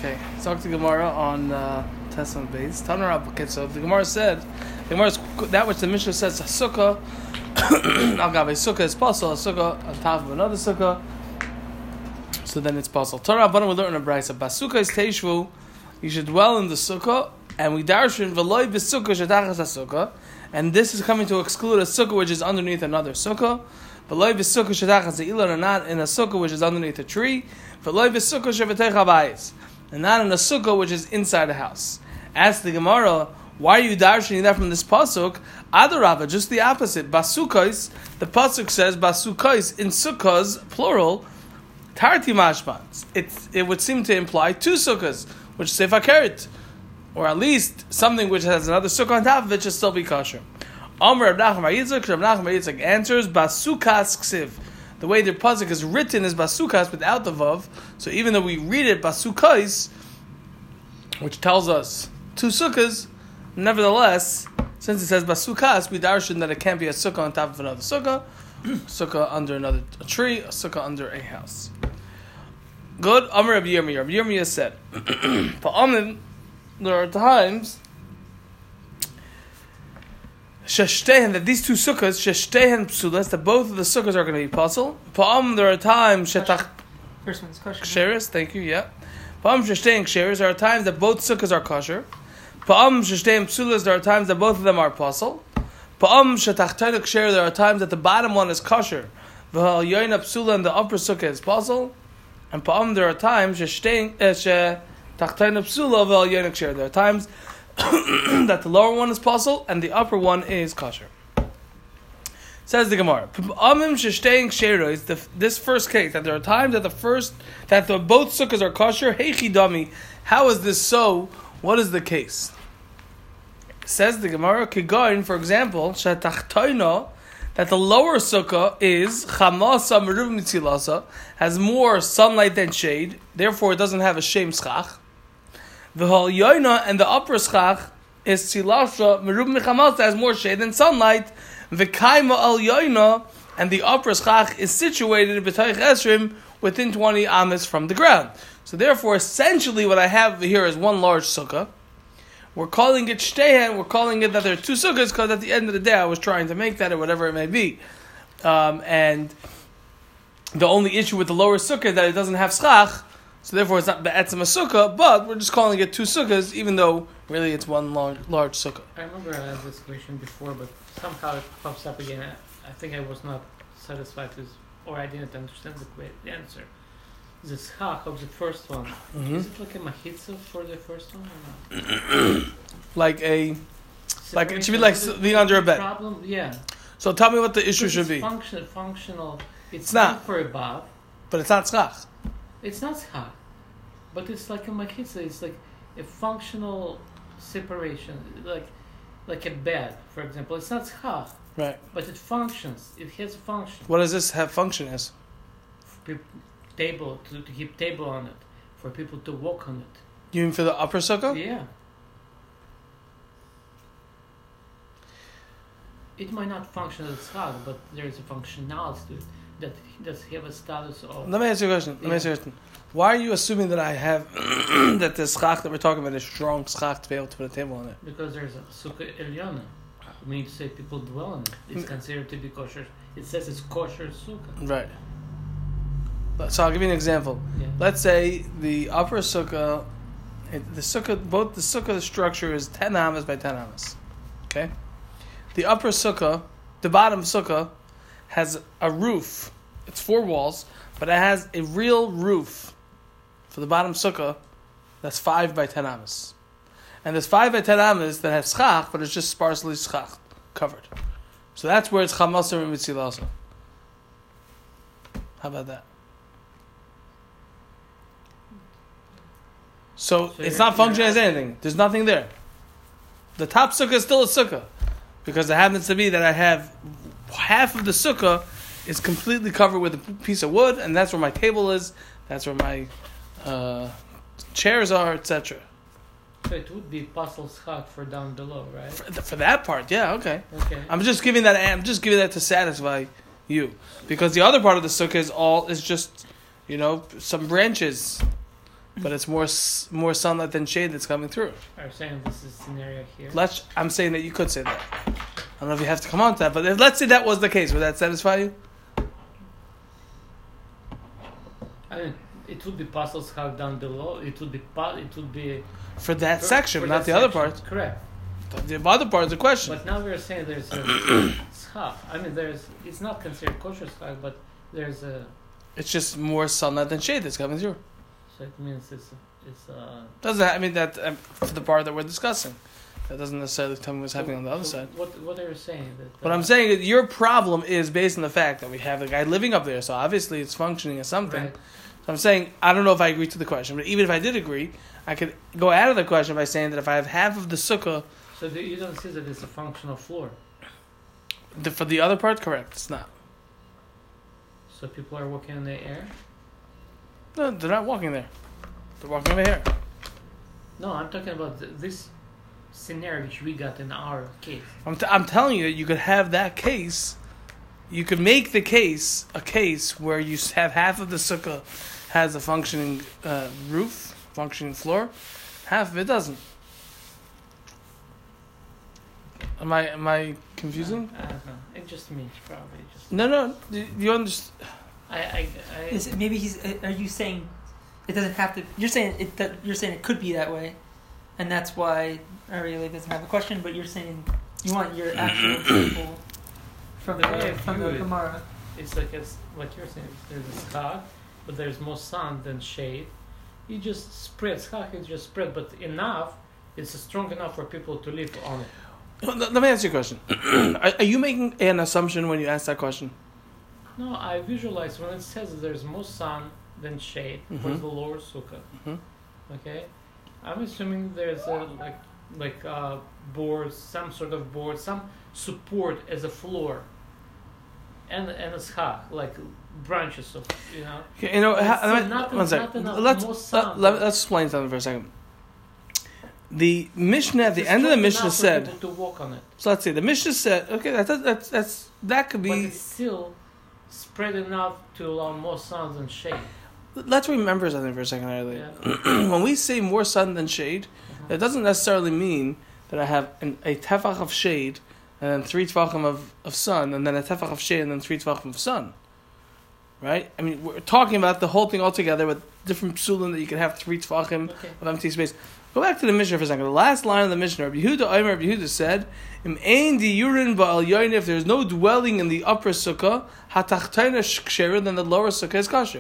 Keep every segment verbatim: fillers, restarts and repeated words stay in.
Okay, let's talk to Gemara on uh, Tesla base. Tanar. Okay, so the Gemara said, the Gemara is that which the Mishnah says a sukkah. Agav, a sukkah is possible. A sukkah on top of another sukkah. So then it's possible. Torah Rabbanan we learn in a brayso. Basukkah is teishvu. You should dwell in the sukkah, and we darshan v'loy b'sukkah shadachas sukkah. And this is coming to exclude a sukkah which is underneath another sukkah. V'loy b'sukkah shadachas ilan, and not in a sukkah which is underneath a tree. V'loy b'sukkah shevetei chabayis, and not in a sukkah which is inside a house. Ask the Gemara, why are you darshaning that from this pasuk? Adarabba, just the opposite. Basukais, the pasuk says basukais in sukkahs plural. Tarti mashmans. It it would seem to imply two sukkahs, which is sefakeret, or at least something which has another sukkah on top of it should still be kosher. Amr Reb Nachman bar Yitzchak, Reb Nachman bar Yitzchak answers basukas ksiv. The way the pasuk is written is basukas without the vav. So even though we read it basukais, which tells us two sukkahs, nevertheless, since it says basukas, we darshan that it can't be a sukkah on top of another sukkah, a sukkah under another a tree, a sukkah under a house. Good. Amr Rabbi Yirmiyah. Rabbi Yirmiyah said, "Pa'amin, there are times sheshtehen that these two sukkahs sheshtehen psulas that both of the sukkahs are going to be puzzle. Pa'am, there are times shetach first one's kosher. Ksheris. Thank you. Yeah. Pa'am sheshtehen ksheris. There are times that both sukkahs are kosher. Pa'am sheshtehen psulas. There are times that both of them are puzzle. Pa'am shetachtainu ksher. There are times that the bottom one is kosher. V'hal yoyna psula and the upper sukkah is puzzle. And pa'am, there are times sheshtehen shetachtainu psula v'hal yoyna ksher. There are times that the lower one is puzzle and the upper one is kosher. Says the Gemara, this first case, that there are times that the first, that the both sukkahs are kosher, heichi dami, how is this so? What is the case? Says the Gemara, kigain, for example, shetachtoino, that the lower sukkah is chamasa meruv mitzilasa, has more sunlight than shade, therefore it doesn't have a shem schach. V'hal yoyna, and the upper schach is tzilasha merub mechamasa, has more shade than sunlight. V'kaima al yoyna, and the upper schach is situated b'tayich esrim within twenty amas from the ground. So therefore, essentially, what I have here is one large sukkah. We're calling it shtehen. We're calling it that there are two sukkahs because at the end of the day, I was trying to make that or whatever it may be. Um, and the only issue with the lower sukkah is that it doesn't have schach. So therefore, it's not be'etzem a sukkah, but we're just calling it two sukkahs, even though really it's one large, large sukkah. I remember I had this question before, but somehow it pops up again. I, I think I was not satisfied with, or I didn't understand the, the answer. The schach of the first one, mm-hmm. Is it like a machitza for the first one or not? like a, like it should be like being under a bed. Problem? Yeah. So tell me what the issue should be. Function, functional. It's, it's not not for a bav. But it's not schach. It's not schach, but it's like a machitza. It's like a functional separation, like like a bed, for example. It's not schach, right? But it functions. It has a function. What does this have function as? Table to, to keep table on it, for people to walk on it. You mean for the upper sukkah? Yeah. It might not function as schach, but there is a functionality to it that does have a status of. Let me ask you a question. Let yeah. me ask you a question. Why are you assuming that I have that the schach that we're talking about is strong schach to be able to put a table on it? Because there's a sukkah elyona. We need to say people dwell in it. It's considered to be kosher. It says it's kosher sukkah. Right. So I'll give you an example. Yeah. Let's say the upper sukkah, the sukkah, both the sukkah structure is ten amas by ten amas. Okay. The upper sukkah, the bottom sukkah, has a roof. It's four walls, but it has a real roof for the bottom sukkah that's five by ten amas. And there's five by ten amas that has schach, but it's just sparsely schach covered. So that's where it's chamasar and mitzilasa. How about that? So, so it's not functioning as anything. There's nothing there. The top sukkah is still a sukkah. Because it happens to be that I have half of the sukkah is completely covered with a piece of wood, and that's where my table is, that's where my uh, chairs are, et cetera. So it would be puzzle schach for down below, right? For, for that part, yeah, okay. Okay. I'm just giving that. I'm just giving that to satisfy you, because the other part of the sukkah is all is just, you know, some branches but it's more s- more sunlight than shade that's coming through. Are you saying this is scenario here? Let's. I'm saying that you could say that. I don't know if you have to come on to that, but if, let's say that was the case. Would that satisfy you? I mean, it would be possible schach down below. It would be po- It would be For that for- section, for not that the other section. part. Correct. The other part is the question. But now we're saying there's a schach. I mean, there's. It's not considered kosher schach, but there's a. It's just more sunlight than shade that's coming through. So it means it's it's uh. Doesn't I mean that um, for the part that we're discussing? That doesn't necessarily tell me what's happening so- on the other so side. What what are you saying? That, What uh, I'm saying is your problem is based on the fact that we have a guy living up there, so obviously it's functioning as something. Right. So I'm saying I don't know if I agree to the question, but even if I did agree, I could go out of the question by saying that if I have half of the sukkah, So do, you don't see that it's a functional floor. the, for the other part, correct, it's not. So people are walking in the air. No, they're not walking there. They're walking over here. No, I'm talking about th- this scenario which we got in our case. I'm, t- I'm telling you that you could have that case. You could make the case a case where you s- have half of the sukkah has a functioning uh, roof, functioning floor, half of it doesn't. Am I am I confusing? I, I don't know. It's just me, probably. Just No, no. You, you understand? I, I, I Is it, maybe he's. Are you saying it doesn't have to? You're saying it. That you're saying it could be that way, and that's why Ariel doesn't have a question. But you're saying you want your actual example from The way I the from view the it- Gemara. it's like it's like you're saying. There's a schach, but there's more sun than shade. You just spread schach. It's just spread, but enough. It's strong enough for people to live on it. Well, Let let me ask you a question. are, are you making an assumption when you ask that question? No, I visualize when it says that there's more sun than shade for Mhm. the lower sukkah. Mhm. Okay, I'm assuming there's a like like uh, boards, some sort of board, some support as a floor, and and a schach like branches of you know. Okay, you know, But ha- it's let me- not- one second. not enough Let's more let, sun. let, let's explain something for a second. The Mishnah at the It's end of the strong Mishnah enough for said. people to walk on it, So let's see. The Mishnah said. Okay, that's that's that's that could but be. it's still spread enough to allow more sun than shade. Let's remember something for a second, earlier. Yeah. When we say more sun than shade, Uh-huh. that doesn't necessarily mean that I have an, a tefach of shade and then three tefachim of, of sun and then a tefach of shade and then three tefachim of sun. Right? I mean, we're talking about the whole thing all together with different psulim that you can have three tefachim Okay. of empty space. Go back to the Mishnah for a second. The last line of the Mishnah, Rabbi Yehuda, Omer, Rabbi Yehuda said, "Im ein diurin ba'al yoyin." If there is no dwelling in the upper sukkah, hatachtayna ksherer, then the lower sukkah is kosher.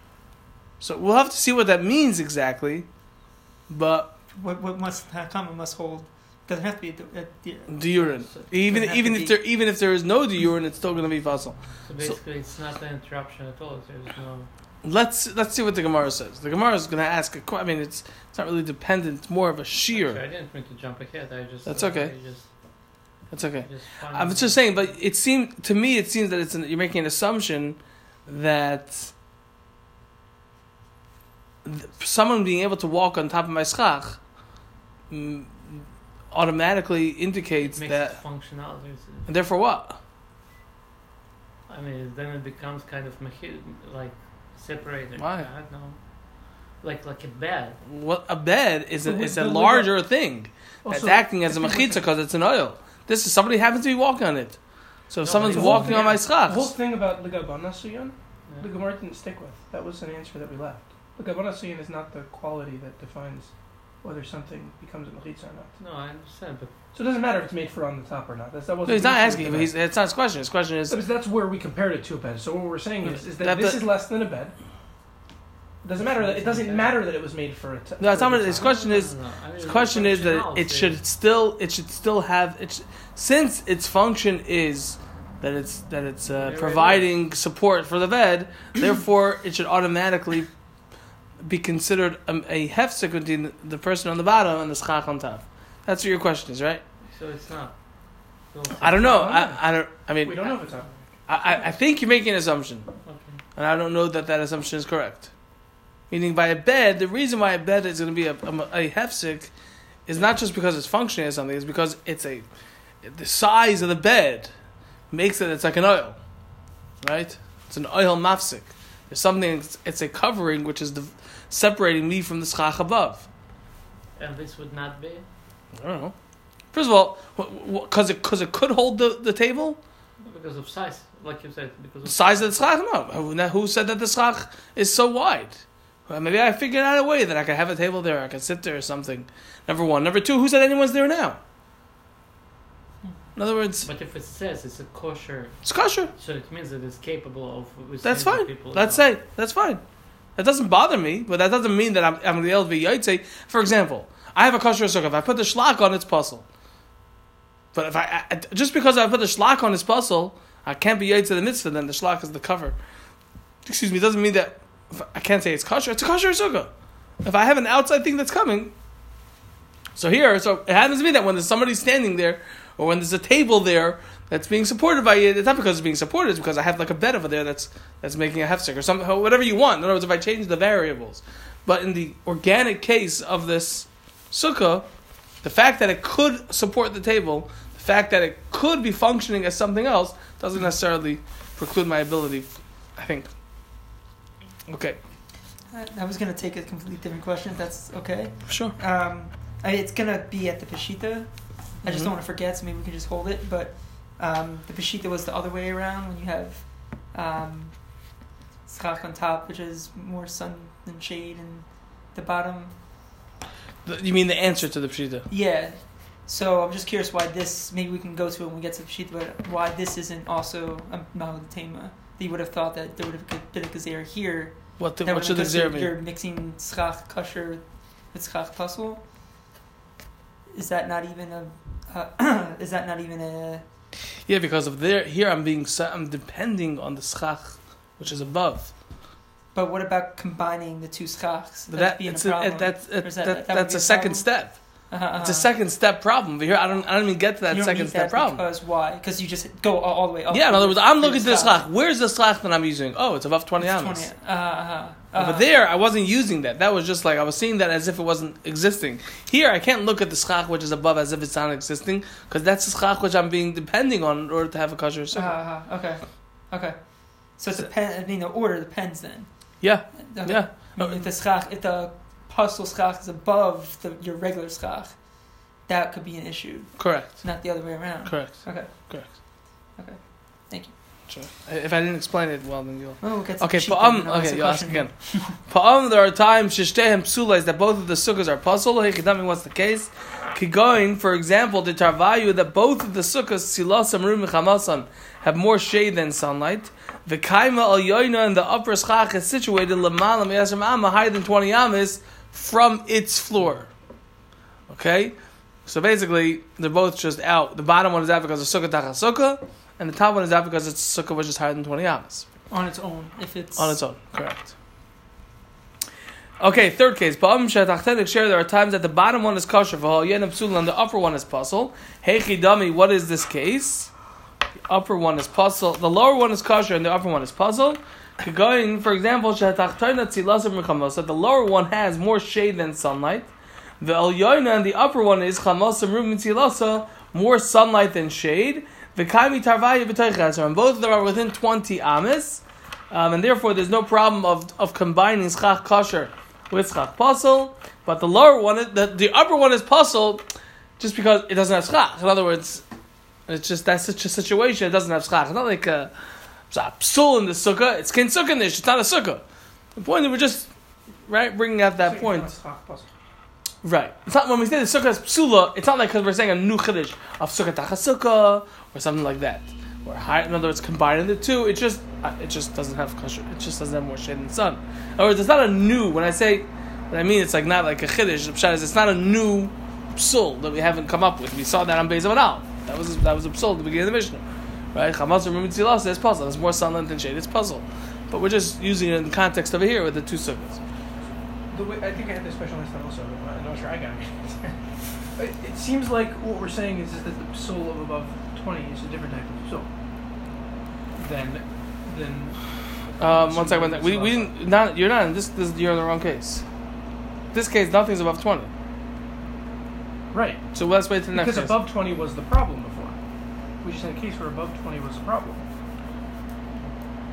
So we'll have to see what that means exactly, but What what must come must hold. Doesn't have to be a, a, diurin, even Doesn't have even to if be- there even if there is no diurin, it's still going to be fossil. So basically, it's not an interruption at all. There's no. Let's let's see what the Gemara says. The Gemara is going to ask a question. I mean, it's it's not really dependent. It's more of a shear. Actually, I didn't mean to jump ahead. I just. That's uh, okay. I just, That's okay. I just found I was just saying, but it seemed to me it seems that it's an, you're making an assumption that th- someone being able to walk on top of my schach mm, automatically indicates it makes that, it functional. There's and therefore what? a, I mean, then it becomes kind of machi- like separated. Why? I don't know. Like like a bed. What a bed is a, But is with- a but with larger thing. Also, It's acting as a I think machitza with because it's an oil. This is somebody happens to be walking on it. So if No, someone's but the whole walking thing- on my The whole schach, thing about Ligabana Suyan, Yeah. the Gemara didn't stick with. That was an answer that we left. Ligabana Suyan is not the quality that defines whether something becomes a mechitza or not. No, I understand, but So it doesn't matter if it's made for on the top or not. That's, that no, wasn't he's the not issue asking. with But the he's, it's not his question. His question is bed. Because that's where we compared it to a bed. So what we're saying is, is that, That this the- is less than a bed. It doesn't matter that it doesn't matter that it was made for a. T- No, it's for not- the his top. question is- No, no, no. I mean, His the question is that it functionality- should still it should still have it sh- since its function is that it's that it's uh, Yeah, right, providing support for the bed. Therefore, it should automatically be considered a, a hefsek between the person on the bottom and the schach on top. That's what your question is, right? So it's not. So it's I don't know. I don't know. I, I don't. I mean, We don't know if it's up. I, I, I think you're making an assumption, Okay. and I don't know that that assumption is correct. Meaning, by a bed, the reason why a bed is going to be a, a, a hefsek is not just because it's functioning as something; it's because it's a the size of the bed makes it. It's like an oil, right? It's an oil mafsik. There's something. It's, it's a covering which is the separating me from the schach above. And this would not be? I don't know. First of all, because it, cause it could hold the, the table? Because of size, like you said. Because The of size of the schach? No. Who- now, Who said that the schach is so wide? Well, maybe I figured out a way that I could have a table there, I could sit there or something. Number one. Number two, who said anyone's there now? In other words, But if it says it's a kosher, it's kosher. so it means that it's capable of withstanding That's fine. people. Let's as well. say that's fine. That doesn't bother me, but that doesn't mean that I'm I'm the L V Yaitse. For example, I have a kosher sukkah. If I put the shlach on, it's puzzle. But if I, I just because I put the shlach on, it's puzzle, I can't be Yaitse the mitzvah. Then the shlach is the cover. Excuse me. Doesn't mean that if I can't say it's kosher. It's a kosher sukkah. If I have an outside thing that's coming, so here, so it happens to be that when there's somebody standing there, or when there's a table there that's being supported by it, it's not because it's being supported, it's because I have like a bed over there that's that's making a hefsek or something, whatever you want. In other words, if I change the variables. But in the organic case of this sukkah, the fact that it could support the table, the fact that it could be functioning as something else, doesn't necessarily preclude my ability, I think. Okay, I, I was going to take a completely different question, if that's okay. sure. Um, I, it's going to be at the Peshita. I just Mhm. don't want to forget, so maybe we can just hold it. But um, the Peshita was the other way around, when you have um, schach on top, which is more sun than shade, and the bottom. The- You mean the answer to the pshita? Yeah. So I'm just curious why this, maybe we can go to it when we get to the Peshita, but why this isn't also a Mahalatema. You would have thought that there would have been a Gezer here. What, the, that what would should the have zera been- You're mean? mixing schach kosher with schach puzzle. Is that not even a? Uh, is that not even a? Yeah, because of there, here I'm being, sa- I'm depending on the schach, which is above. But what about combining the two schachs? But That's that, being it's a a, problem. it, that's, Or it, is that, that- that would that's be a a second problem? step. Uh-huh, uh-huh. It's a second step problem. But here, I don't, I don't even get to that you don't second need step that problem. Because why? Because you just go all, all the way up. Yeah, in other words, I'm looking at the schach. schach. Where's the schach that I'm using? Oh, it's above twenty It's amas. twenty. Uh, uh, uh, But there, I wasn't using that. That was just like, I was seeing that as if it wasn't existing. Here, I can't look at the schach which is above as if it's not existing, because that's the schach which I'm being depending on in order to have a kosher Uh, sukkah. uh, okay. Okay. So it depends. I mean, the order depends then. Yeah, Okay. yeah. I mean, if the schach, if the puzzle schach is above the, your regular schach, that could be an issue. Correct. Not the other way around. Correct. Okay. Correct. Okay. Thank you. Sure. If I didn't explain it well, then you'll... Oh, we'll get to Okay, Peshita, pa'am, and I'll ask okay, a you ask question. again. Pa'am, there are times, shishtehem psula, is that both of the sukkahs are puzzle. Hechidami, what's the case? Kigoin, for example, the tarvayu, that both of the sukkahs, silasam, rum, chamasan, have more shade than sunlight. The kaima al yoina, and the upper schach is situated lamala me'asram amma, higher than twenty amas from its floor. Okay? So basically, they're both just out. The bottom one is out because of sukkah tacha sukkah, and the top one is out because it's sukkah which is higher than twenty amas. On its own, if it's On its own, correct. Okay, third case. Ba'am shetachtenik share. There are times that the bottom one is kosher, v'hal yenim psul, and the upper one is puzzle. Heichi dami. What is this case? The upper one is puzzle. The lower one is kosher, and the upper one is puzzle. Going, for example, shetachtoina tzilasam mechamos. That the lower one has more shade than sunlight. The elyoina and the upper one is chamosam rum tzilasa, more sunlight than shade. The kaimi tarvaya b'toichas, and both of them are within twenty amas, um, and therefore there's no problem of of combining schach kosher with schach puzzle. But the lower one, is, the the upper one is puzzle, just because it doesn't have schach. In other words, it's just that's such a situation. It doesn't have schach. It's not like a, it's a psul in the sukkah. It's kin sukkah nish. It's not a sukkah. The point is we're just right bringing out that So point. it's not schach puzzle. Right. It's not when we say the sukkah is psula. It's not like because we're saying a new chiddush of sukkah tachasukkah or something like that. Or high, in other words, combining the two, it just uh, it just doesn't have kosher. It just doesn't have more shade than the sun. In other words, it's not a new. When I say, what I mean, it's like not like a chiddush. The pshat is it's not a new psul that we haven't come up with. We saw that on Beis Amanal. That was that was a psul at the beginning of the Mishnah, right? Chamas or Mimitzilah says puzzle. There's more sunlight than shade. It's puzzle, but we're just using it in the context over here with the two sukkahs. The way, I think I had this question last time also, but I'm not sure I got it. it. It seems like what we're saying is, is that the psul of above twenty is a different type of psul. Than, than. Um, one second, one second. We we didn't, not you're not in this, this. You're in the wrong case. This case, nothing's above twenty. Right. So let's wait to the next Because case. above twenty was the problem before. We just had a case where above twenty was the problem.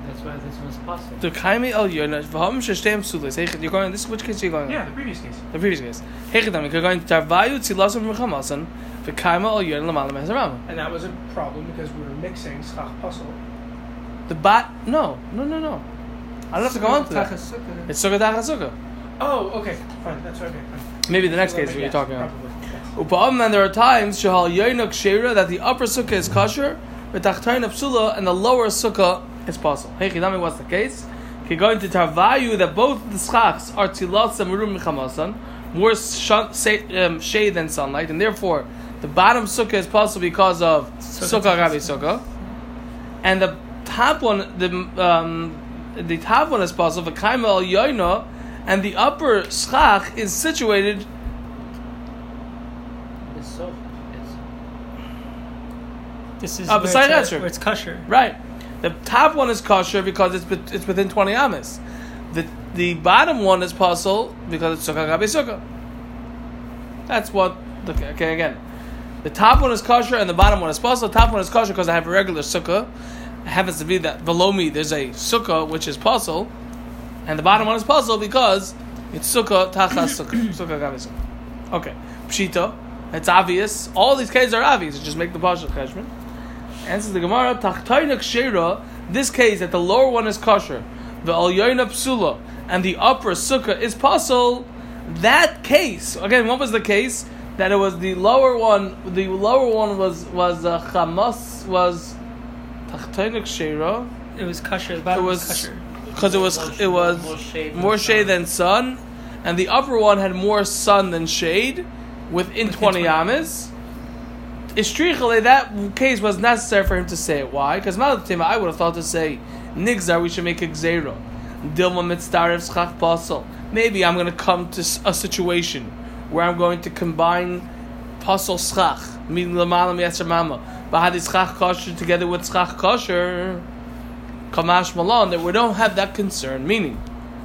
That's why this one's possible. The kaimi el yona v'ham sheshteim psulis. Hey, you're going. This which case are you going? Yeah, the previous case. The previous case. Hey, you're going to tarvayu tzilasim v'chamasan v'kaima el yona l'malam hazarama. And that was a problem because we were mixing schach puzzle. The bat? No, no, no, no. I don't have to go on to that. Tachas sukkah. It's sukkah tachas sukkah. Oh, okay, fine. That's okay. Fine. Maybe the next So case that what you're makes- talking about. Probably. Yes. Upa'am, and there are times shahal yoinuk sheira that the upper sukkah is kosher, but tachtayin psula and the lower sukkah is possible. Hey, Chidami, what's the case? Okay, going to tarvayu that both the schachs are tilat samurum michamasan, more sh- say, um, shade than sunlight, and therefore the bottom sukkah is possible because of Sukkah sukkah gabi sukkah. sukkah, and the top one, the um, the top one is possible for kaima al yoina, and the upper schach is situated. It's so. It's This is Uh, where, beside it's, that, uh, where it's kosher. Right. The top one is kosher because it's bet- it's within twenty amas. The the bottom one is puzzle because it's sukkah gabi sukkah. That's what. The, okay, again, the top one is kosher and the bottom one is puzzle. The top one is kosher because I have a regular sukkah. It happens to be that below me there's a sukkah which is puzzle, and the bottom one is puzzle because it's sukkah tachas sukkah sukkah gabi sukkah. Okay, pshita. It's obvious. All these cases are obvious. Just make the partial cheshbon. Answers the Gemara, Tachtainik Sheira, this case that the lower one is kosher, the Al Yoina Psula, and the upper sukkah is puzzle, that case, again, what was the case? That it was the lower one, the lower one was, was uh, Chamas, was Tachtainik Sheira, It was kosher. The it bottom was, was, kosher. because it was, it was more shade. more shade than sun, and the upper one had more sun than shade, within, Within twenty twenty. amas. Istrichale, that case was necessary for him to say it. Why? Because I would have thought to say, Nigzar, we should make a Gzeiro. Dilma mitzdarev schach pasal. Maybe I'm going to come to a situation where I'm going to combine pasal schach, meaning lamalam yetzer mama, bahadi schach kosher together with schach kosher, kamash malan, that we don't have that concern. Meaning,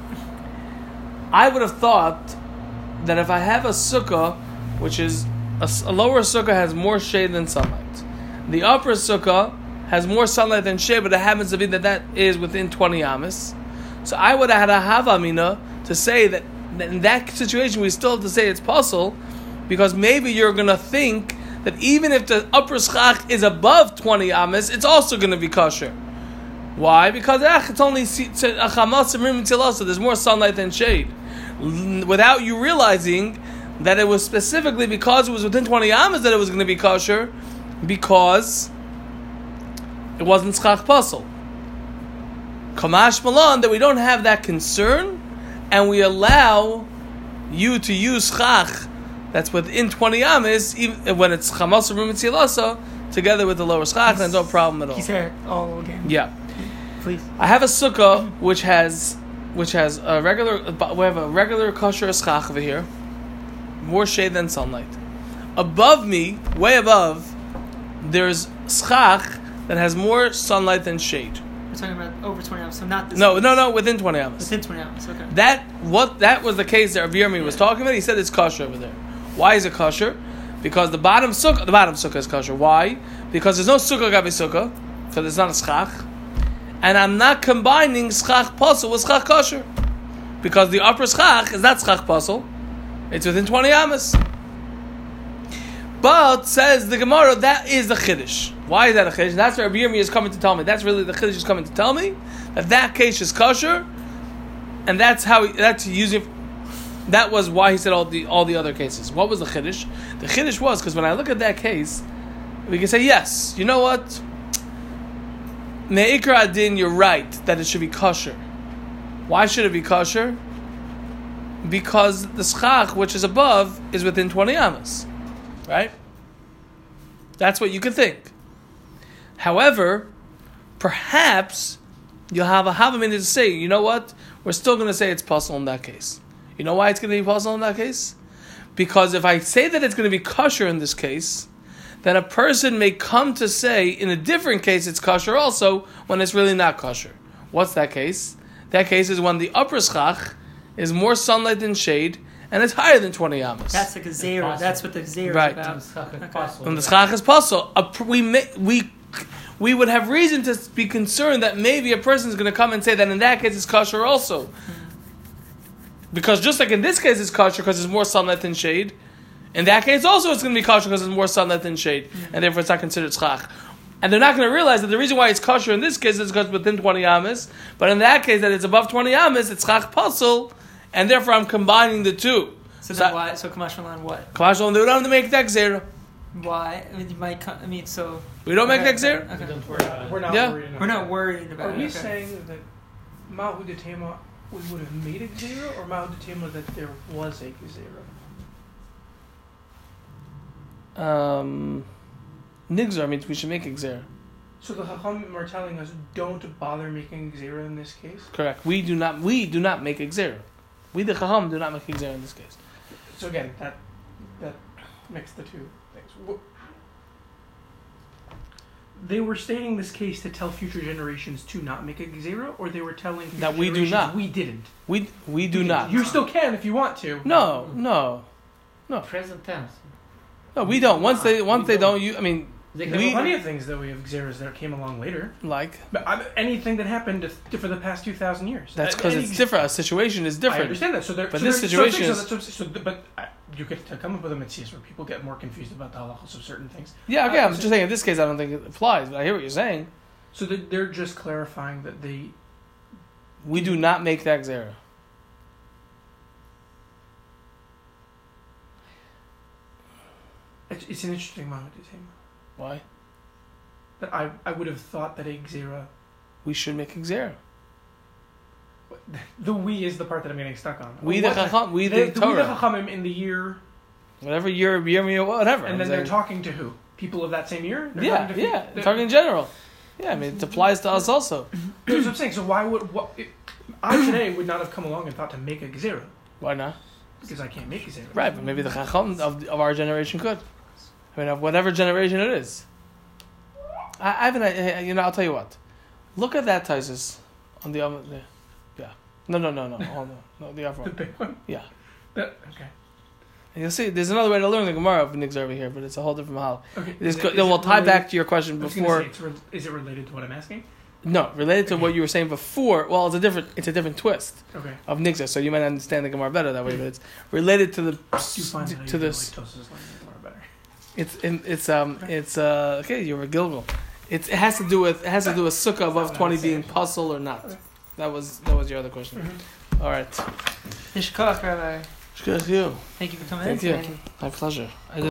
I would have thought that if I have a sukkah, which is a, a lower sukkah has more shade than sunlight, the upper sukkah has more sunlight than shade, but it happens to be that that is within twenty amas. So I would have had a havamina to say that, that in that situation we still have to say it's possible, because maybe you're going to think that even if the upper schach is above twenty amas, it's also going to be kosher. Why? Because ach, it's only so there's more sunlight than shade. Without you realizing that it was specifically because it was within twenty amas that it was going to be kosher, because it wasn't schach pasal. Kamash malan, that we don't have that concern, and we allow you to use schach that's within twenty amas, even when it's chamas or mitzilasa, together with the lower schach, and no problem at all. He's here all again. Yeah. Please. I have a sukkah which has which has a regular. We have a regular kosher schach over here, more shade than sunlight. Above me, way above, there's schach that has more sunlight than shade. We're talking about over twenty hours, so not this. No, no, no, within twenty amas. Within twenty hours, okay. That what that was the case that Rav Yirmi was talking about. He said it's kosher over there. Why is it kosher? Because the bottom sukkah, the bottom sukkah is kosher. Why? Because there's no sukkah gabi sukkah, so there's not a schach. And I'm not combining schach pasal with schach kosher, because the upper schach is not schach pasal; it's within twenty amas. But says the Gemara, that is the chiddush. Why is that a chiddush? That's what Rabbi Yirmi is coming to tell me. That's really the chiddush is coming to tell me that that case is kosher, and that's how he, that's using. That was why he said all the all the other cases. What was the chiddush? The chiddush was because when I look at that case, we can say yes. You know what? Me'ikra adin, you're right that it should be kosher. Why should it be kosher? Because the schach, which is above, is within twenty amas, right? That's what you could think. However, perhaps you'll have a havamina to say, you know what? We're still going to say it's possible in that case. You know why it's going to be possible in that case? Because if I say that it's going to be kosher in this case, then a person may come to say in a different case it's kosher also when it's really not kosher. What's that case? That case is when the upper schach is more sunlight than shade and it's higher than twenty amas. That's like a zera. That's what the zera Right. is about. When the schach is possible. When the schach is possible, we may, we we would have reason to be concerned that maybe a person is going to come and say that in that case it's kosher also. Because just like in this case it's kosher because there's more sunlight than shade, in that case also it's going to be kosher because there's more sunlight than shade, mm-hmm. and therefore it's not considered schach. And they're not going to realize that the reason why it's kosher in this case is because within twenty amas, but in that case that it's above twenty amas, it's schach pasul, and therefore I'm combining the two. So, So then why? So Kamash Malan, what? Kamash Malan, they don't have to make that zero. Why? I mean, you might. Come, I mean, so We don't make okay, that zero. okay. Don't worry about it. We're not Yeah. worried enough. We're not worried about Are it. we okay. saying that Mahu de Tema we would have made a zero, or Mahu de Tema that there was a zero? Um, Nigzar means we should make a zero. So the Chachamim are telling us don't bother making zero in this case. Correct. We do not. We do not make a zero. We the chacham do not make a zero in this case. So again, that that makes the two things. Wh- They were stating this case to tell future generations to not make a zero, or they were telling future That we do generations not. we didn't. We we do You not. didn't. You still can if you want to. No, no, Present tense. no. We don't. Once they once We they don't. don't. You. I mean, They There can were plenty of things that we have zeros that came along later. like But I, anything that happened to, for the past two thousand years. that's Uh, because any- it's different. A situation is I different. understand that. So there, But so this there- situation so, is- so, so, so, but uh, you get to come up with a mitzvah where people get more confused about the halachos of certain things. Yeah. Okay. Uh, I'm just saying. In this case, I don't think it applies. But I hear what you're saying. So they're, they're just clarifying that they. We do not make that zero. It's, it's an interesting moment to say. Why? That I, I would have thought that a xera. We should make a zero. The we is the part that I'm getting stuck on. We the What chacham. We the, the the, we the Torah. chachamim in the year, Whatever year, year, year, whatever. and I'm then they're saying. talking to who? People of that same year? They're Yeah. talking to Yeah. the- They're talking in general. Yeah. I mean, it applies to us also. That's what I'm saying. So why would what? It, I today would not have come along and thought to make a xera Why not? because I can't make a xera. Right, but maybe the chacham of, of our generation could. I mean, of whatever generation it is. I, I haven't. I- You know, I'll tell you what. Look at that Taisus on the other. Yeah. yeah. No, no, no, no. Hold on. No, the other The one. big one. Yeah. That, okay. And you'll see. There's another way to learn the Gemara of Nigz over here, but it's a whole different mahal. Okay. This Is go, it- no, is we'll it tie related- back to your question I was gonna before. say, it's re- is it related to what I'm asking? No, related to Okay. what you were saying before. Well, it's a different. It's a different twist Okay. of Nigza, so you might understand the Gemara better that way. But it's related to the Do you find that to you this. feel like Tosfos language more better? It's in, it's um it's uh okay. You're a Gilgal. It's it has to do with it has to do with sukkah above twenty being puzzle or not. Okay. That was that was your other question. Mhm. All right. Yishkach, Rabbi. Good to you. Thank you for coming Thank in you. today. My pleasure. I